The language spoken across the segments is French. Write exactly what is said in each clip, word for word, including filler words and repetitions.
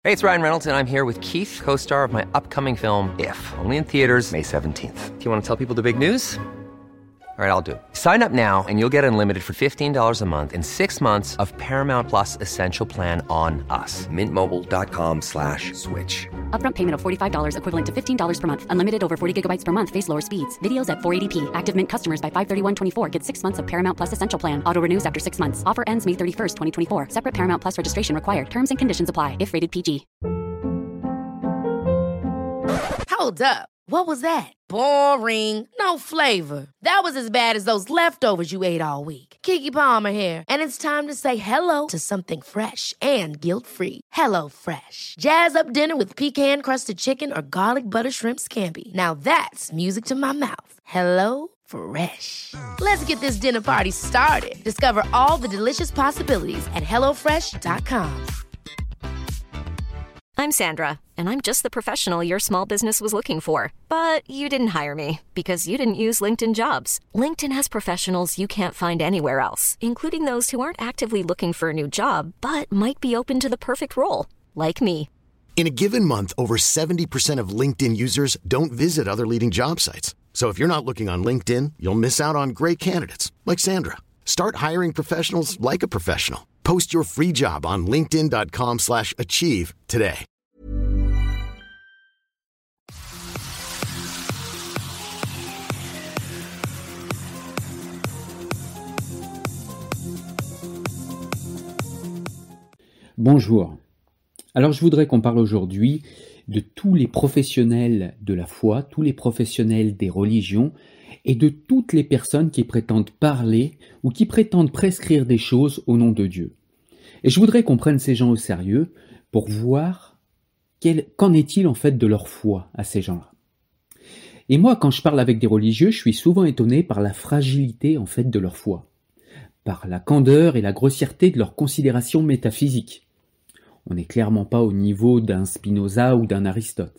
Hey, it's Ryan Reynolds, and I'm here with Keith, co-star of my upcoming film, If, only in theaters May seventeenth. Do you want to tell people the big news? All right, I'll do it. Sign up now and you'll get unlimited for fifteen dollars a month and six months of Paramount Plus Essential Plan on us. Mint Mobile dot com slash switch. Upfront payment of forty-five dollars equivalent to fifteen dollars per month. Unlimited over forty gigabytes per month. Face lower speeds. Videos at four eighty p. Active Mint customers by five thirty-one twenty-four get six months of Paramount Plus Essential Plan. Auto renews after six months. Offer ends May thirty-first, twenty twenty-four. Separate Paramount Plus registration required. Terms and conditions apply if rated P G. Hold up. What was that? Boring. No flavor. That was as bad as those leftovers you ate all week. Keke Palmer here, and it's time to say hello to something fresh and guilt-free. Hello Fresh. Jazz up dinner with pecan-crusted chicken or garlic butter shrimp scampi. Now that's music to my mouth. Hello Fresh. Let's get this dinner party started. Discover all the delicious possibilities at hello fresh dot com. I'm Sandra, and I'm just the professional your small business was looking for. But you didn't hire me because you didn't use LinkedIn Jobs. LinkedIn has professionals you can't find anywhere else, including those who aren't actively looking for a new job, but might be open to the perfect role, like me. In a given month, over seventy percent of LinkedIn users don't visit other leading job sites. So if you're not looking on LinkedIn, you'll miss out on great candidates, like Sandra. Start hiring professionals like a professional. Post your free job on linkedin dot com slash achieve today. Bonjour. Alors je voudrais qu'on parle aujourd'hui de tous les professionnels de la foi, tous les professionnels des religions et de toutes les personnes qui prétendent parler ou qui prétendent prescrire des choses au nom de Dieu. Et je voudrais qu'on prenne ces gens au sérieux pour voir quel, qu'en est-il en fait de leur foi à ces gens-là. Et moi, quand je parle avec des religieux, je suis souvent étonné par la fragilité en fait de leur foi, par la candeur et la grossièreté de leurs considérations métaphysiques. On n'est clairement pas au niveau d'un Spinoza ou d'un Aristote.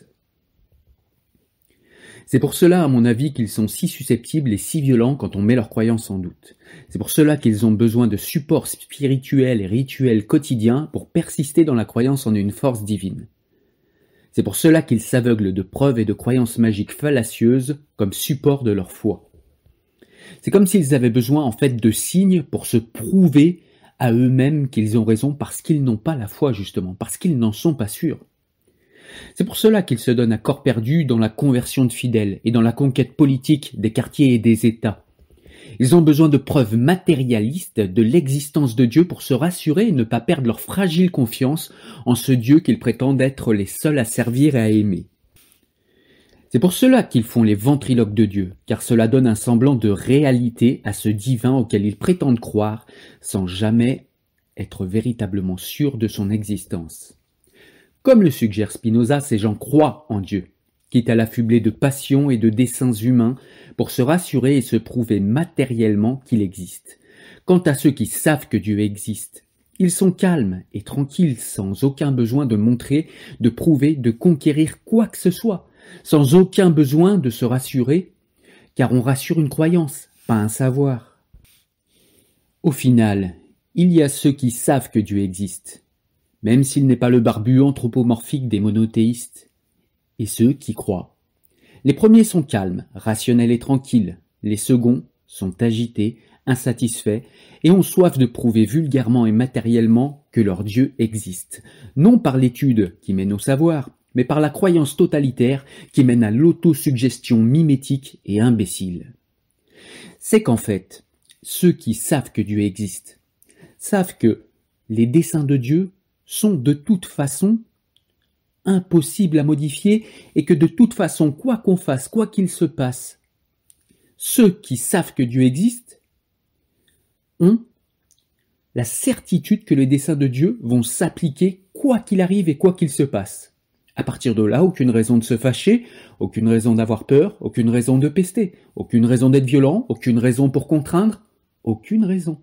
C'est pour cela, à mon avis, qu'ils sont si susceptibles et si violents quand on met leurs croyances en doute. C'est pour cela qu'ils ont besoin de supports spirituels et rituels quotidiens pour persister dans la croyance en une force divine. C'est pour cela qu'ils s'aveuglent de preuves et de croyances magiques fallacieuses comme support de leur foi. C'est comme s'ils avaient besoin en fait de signes pour se prouver à eux-mêmes qu'ils ont raison parce qu'ils n'ont pas la foi justement, parce qu'ils n'en sont pas sûrs. C'est pour cela qu'ils se donnent à corps perdu dans la conversion de fidèles et dans la conquête politique des quartiers et des États. Ils ont besoin de preuves matérialistes de l'existence de Dieu pour se rassurer et ne pas perdre leur fragile confiance en ce Dieu qu'ils prétendent être les seuls à servir et à aimer. C'est pour cela qu'ils font les ventriloques de Dieu, car cela donne un semblant de réalité à ce divin auquel ils prétendent croire sans jamais être véritablement sûrs de son existence. Comme le suggère Spinoza, ces gens croient en Dieu, quitte à l'affubler de passions et de desseins humains pour se rassurer et se prouver matériellement qu'il existe. Quant à ceux qui savent que Dieu existe, ils sont calmes et tranquilles sans aucun besoin de montrer, de prouver, de conquérir quoi que ce soit, sans aucun besoin de se rassurer, car on rassure une croyance, pas un savoir. Au final, il y a ceux qui savent que Dieu existe, même s'il n'est pas le barbu anthropomorphique des monothéistes, et ceux qui croient. Les premiers sont calmes, rationnels et tranquilles, les seconds sont agités, insatisfaits, et ont soif de prouver vulgairement et matériellement que leur Dieu existe, non par l'étude qui mène au savoir, mais par la croyance totalitaire qui mène à l'autosuggestion mimétique et imbécile. C'est qu'en fait, ceux qui savent que Dieu existe, savent que les desseins de Dieu sont de toute façon impossibles à modifier et que de toute façon, quoi qu'on fasse, quoi qu'il se passe, ceux qui savent que Dieu existe ont la certitude que les desseins de Dieu vont s'appliquer quoi qu'il arrive et quoi qu'il se passe. À partir de là, aucune raison de se fâcher, aucune raison d'avoir peur, aucune raison de pester, aucune raison d'être violent, aucune raison pour contraindre, aucune raison.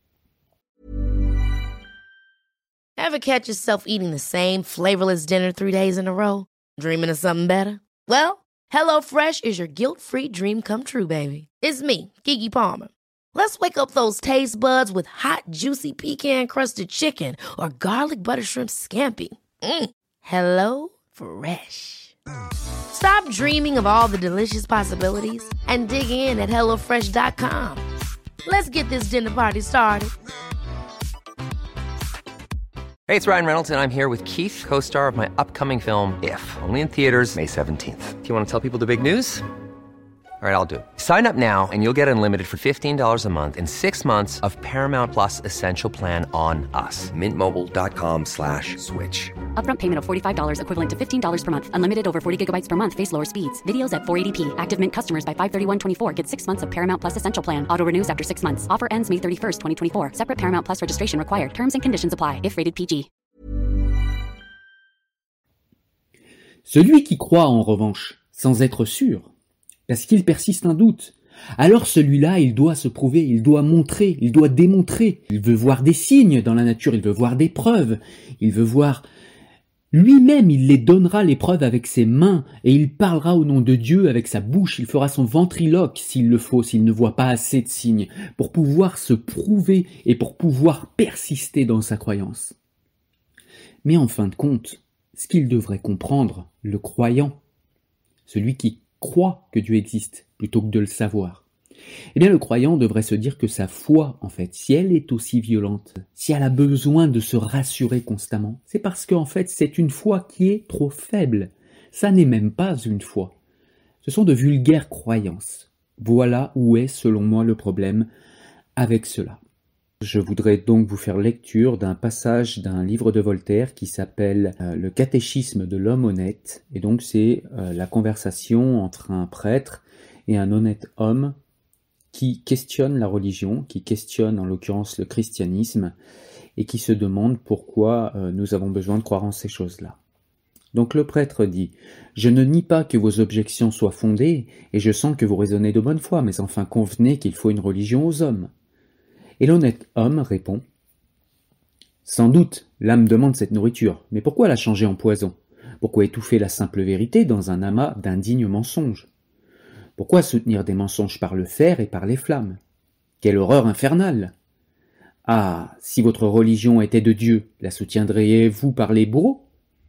Ever catch yourself eating the same flavorless dinner three days in a row? Dreaming of something better? Well, HelloFresh is your guilt-free dream come true, baby. It's me, Keke Palmer. Let's wake up those taste buds with hot, juicy pecan-crusted chicken or garlic butter shrimp scampi. Mm. Hello Fresh. Stop dreaming of all the delicious possibilities and dig in at hello fresh dot com. Let's get this dinner party started. Hey, it's Ryan Reynolds, and I'm here with Keith, co-star of my upcoming film, If, only in theaters May seventeenth. Do you want to tell people the big news? All right, I'll do it. Sign up now and you'll get unlimited for fifteen dollars a month and six months of Paramount Plus Essential Plan on us. Mint Mobile dot com slash switch. Upfront payment of forty-five dollars equivalent to fifteen dollars per month. Unlimited over forty gigabytes per month. Face lower speeds. Videos at four eighty p. Active Mint customers by five thirty-one twenty-four get six months of Paramount Plus Essential Plan. Auto renews after six months. Offer ends May thirty-first, twenty twenty-four. Separate Paramount Plus registration required. Terms and conditions apply if rated P G. Celui qui croit, en revanche, sans être sûr, parce qu'il persiste un doute, alors celui-là, il doit se prouver, il doit montrer, il doit démontrer. Il veut voir des signes dans la nature, il veut voir des preuves, il veut voir... Lui-même, il les donnera les preuves avec ses mains, et il parlera au nom de Dieu avec sa bouche, il fera son ventriloque s'il le faut, s'il ne voit pas assez de signes, pour pouvoir se prouver et pour pouvoir persister dans sa croyance. Mais en fin de compte, ce qu'il devrait comprendre, le croyant, celui qui croit que Dieu existe, plutôt que de le savoir, eh bien le croyant devrait se dire que sa foi, en fait, si elle est aussi violente, si elle a besoin de se rassurer constamment, c'est parce qu'en fait c'est une foi qui est trop faible. Ça n'est même pas une foi. Ce sont de vulgaires croyances. Voilà où est, selon moi, le problème avec cela. Je voudrais donc vous faire lecture d'un passage d'un livre de Voltaire qui s'appelle euh, « Le catéchisme de l'homme honnête ». Et donc c'est euh, la conversation entre un prêtre et un honnête homme qui questionne la religion, qui questionne en l'occurrence le christianisme et qui se demande pourquoi euh, nous avons besoin de croire en ces choses-là. Donc le prêtre dit « Je ne nie pas que vos objections soient fondées et je sens que vous raisonnez de bonne foi, mais enfin convenez qu'il faut une religion aux hommes. » Et l'honnête homme répond « Sans doute, l'âme demande cette nourriture, mais pourquoi la changer en poison? Pourquoi étouffer la simple vérité dans un amas d'indignes mensonges? Pourquoi soutenir des mensonges par le fer et par les flammes? Quelle horreur infernale! Ah, si votre religion était de Dieu, la soutiendriez-vous par les bourreaux?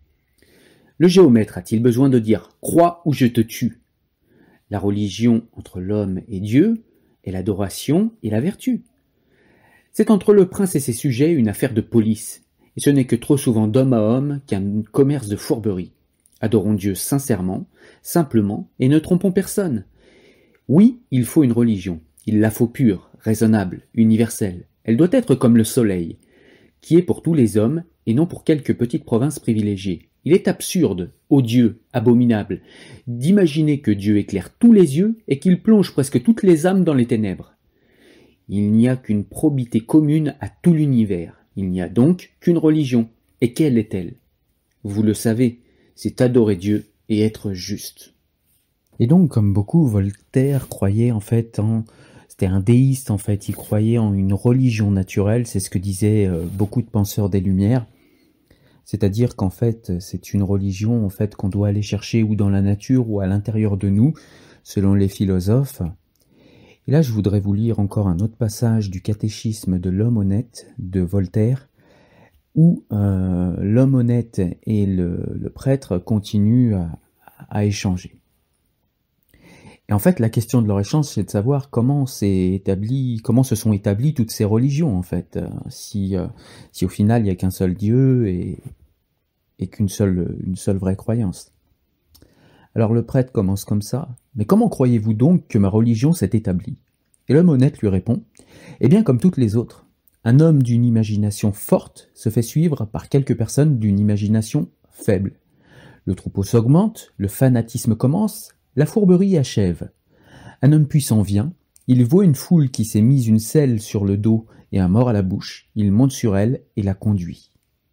Le géomètre a-t-il besoin de dire « Crois ou je te tue » La religion entre l'homme et Dieu est l'adoration et la vertu. C'est entre le prince et ses sujets une affaire de police, et ce n'est que trop souvent d'homme à homme qu'un commerce de fourberie. Adorons Dieu sincèrement, simplement, et ne trompons personne. Oui, il faut une religion, il la faut pure, raisonnable, universelle. Elle doit être comme le soleil, qui est pour tous les hommes, et non pour quelques petites provinces privilégiées. Il est absurde, odieux, abominable, d'imaginer que Dieu éclaire tous les yeux et qu'il plonge presque toutes les âmes dans les ténèbres. Il n'y a qu'une probité commune à tout l'univers. Il n'y a donc qu'une religion. Et quelle est-elle? Vous le savez, c'est adorer Dieu et être juste. Et donc, comme beaucoup, Voltaire croyait en fait en... C'était un déiste en fait, il croyait en une religion naturelle, c'est ce que disaient euh, beaucoup de penseurs des Lumières. C'est-à-dire qu'en fait, c'est une religion en fait qu'on doit aller chercher ou dans la nature ou à l'intérieur de nous, selon les philosophes. Et là, je voudrais vous lire encore un autre passage du catéchisme de l'homme honnête de Voltaire, où euh, l'homme honnête et le, le prêtre continuent à, à échanger. Et en fait, la question de leur échange, c'est de savoir comment s'est établi, comment se sont établies toutes ces religions, en fait. Si, euh, si au final, il n'y a qu'un seul Dieu et, et qu'une seule, une seule vraie croyance. Alors le prêtre commence comme ça. « Mais comment croyez-vous donc que ma religion s'est établie ?» Et l'homme honnête lui répond « Eh bien, comme toutes les autres, un homme d'une imagination forte se fait suivre par quelques personnes d'une imagination faible. Le troupeau s'augmente, le fanatisme commence, la fourberie achève. Un homme puissant vient, il voit une foule qui s'est mise une selle sur le dos et un mort à la bouche, il monte sur elle et la conduit. »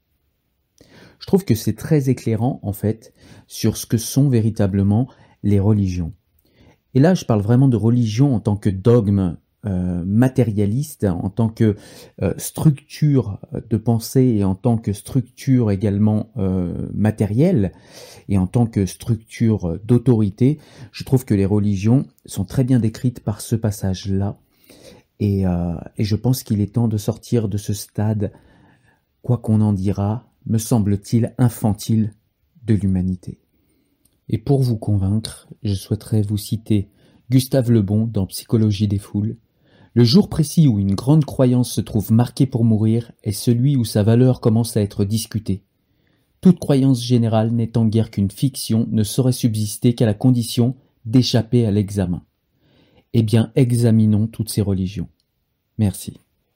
Je trouve que c'est très éclairant, en fait, sur ce que sont véritablement les religions. Et là, je parle vraiment de religion en tant que dogme euh, matérialiste, en tant que euh, structure de pensée et en tant que structure également euh, matérielle et en tant que structure d'autorité. Je trouve que les religions sont très bien décrites par ce passage-là. Et, euh, et je pense qu'il est temps de sortir de ce stade, quoi qu'on en dira, me semble-t-il infantile de l'humanité. Et pour vous convaincre, je souhaiterais vous citer Gustave Le Bon dans Psychologie des foules. Le jour précis où une grande croyance se trouve marquée pour mourir est celui où sa valeur commence à être discutée. Toute croyance générale n'étant guère qu'une fiction ne saurait subsister qu'à la condition d'échapper à l'examen. Eh bien, examinons toutes ces religions. Merci.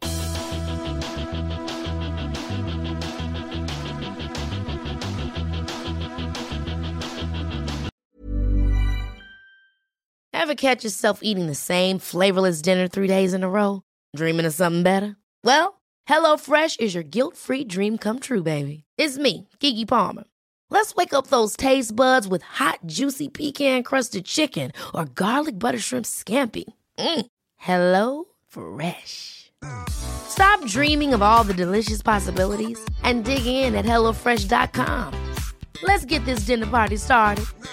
Ever catch yourself eating the same flavorless dinner three days in a row? Dreaming of something better? Well, HelloFresh is your guilt-free dream come true, baby. It's me, Keke Palmer. Let's wake up those taste buds with hot, juicy pecan-crusted chicken or garlic butter shrimp scampi. Mm. Hello Fresh. Stop dreaming of all the delicious possibilities and dig in at hello fresh dot com. Let's get this dinner party started.